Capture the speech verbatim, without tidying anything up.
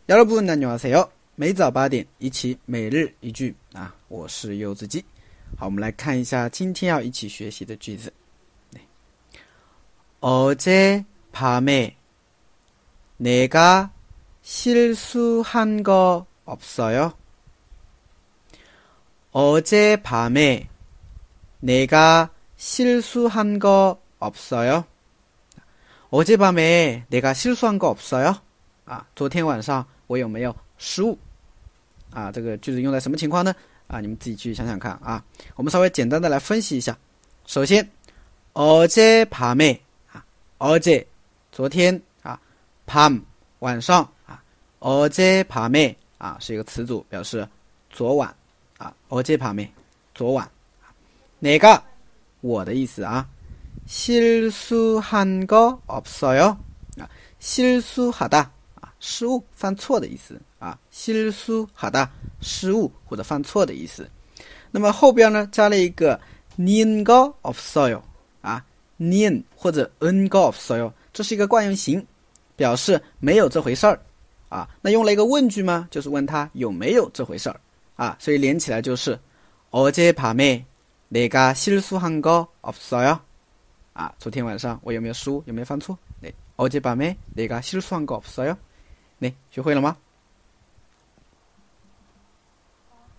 여러분 안녕하세요. 每早八点一起每日一句啊，我是柚子鸡。好，我们来看一下今天要一起学习的句子。어젯밤에 내가 실수한 거 없어요? 어젯밤에 내가 실수한 거 없어요? 어젯밤에 내가 실수한 거 없어요? 啊，昨天晚上我有没有失误？啊，这个句子用在什么情况呢？啊，你们自己去想想看啊。我们稍微简单的来分析一下。首先，어젯밤에啊，어제昨天啊，밤晚上啊，어젯밤에啊是一个词组，表示昨晚啊，어젯밤에昨晚。내가我的意思啊，실수한 거 없어요？啊，실수하다。失误犯错的意思啊，실수하다失误或者犯错的意思。那么后边呢加了一个닌 거 없어요啊，닌或者은 거 없어요，这是一个惯用型，表示没有这回事儿啊。那用了一个问句吗？就是问他有没有这回事儿啊，所以连起来就是어젯밤에 내가 실수한 거 없어요啊，昨天晚上我有没有失误，有没有犯错？네，어젯밤에 내가 실수한 거 없어요？네，学会了吗？